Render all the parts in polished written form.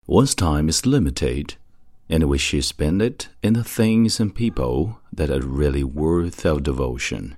One's time is limited, and we should spend it in the things and people that are really worth our devotion.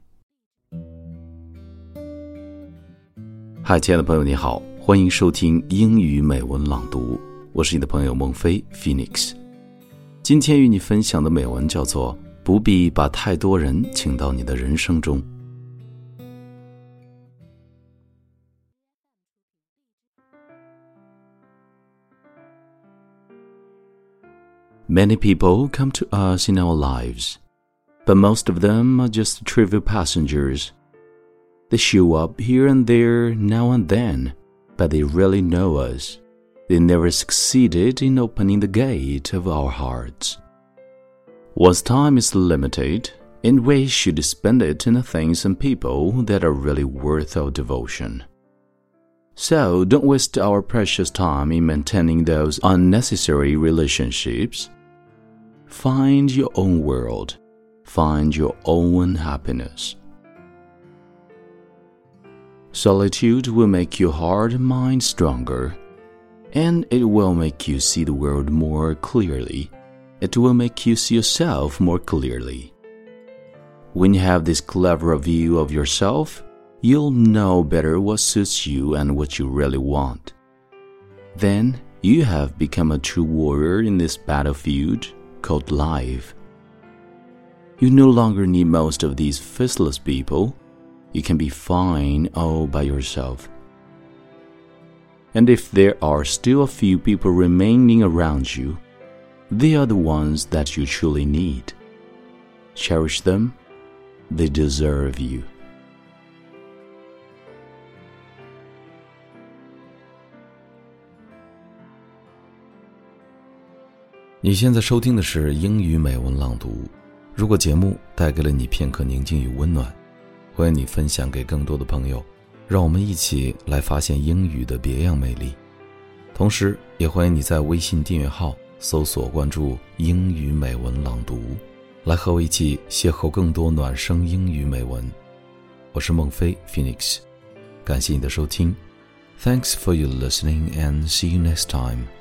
嗨，亲爱的朋友你好，欢迎收听英语美文朗读，我是你的朋友孟非 Phoenix。 今天与你分享的美文叫做不必把太多人请到你的人生中。Many people come to us in our lives, but most of them are just trivial passengers. They show up here and there now and then, but they rarely know us. They never succeeded in opening the gate of our hearts. One's time is limited, and we should spend it in the things and people that are really worth our devotion. So don't waste our precious time in maintaining those unnecessary relationships. Find your own world. Find your own happiness. Solitude will make your heart and mind stronger, and it will make you see the world more clearly. It will make you see yourself more clearly. When you have this clearer view of yourself, you'll know better what suits you and what you really want. Then you have become a true warrior in this battlefield called life. You no longer need most of these faceless people. You can be fine all by yourself. And if there are still a few people remaining around you, they are the ones that you truly need. Cherish them. They deserve you. 你现在收听的是英语美文朗读。如果节目带给了你片刻宁静与温暖，欢迎你分享给更多的朋友，让我们一起来发现英语的别样美丽。同时也欢迎你在微信订阅号搜索关注英语美文朗读，来和我一起邂逅更多暖声英语美文。我是孟非 Phoenix， 感谢你的收听。Thanks for your listening and see you next time.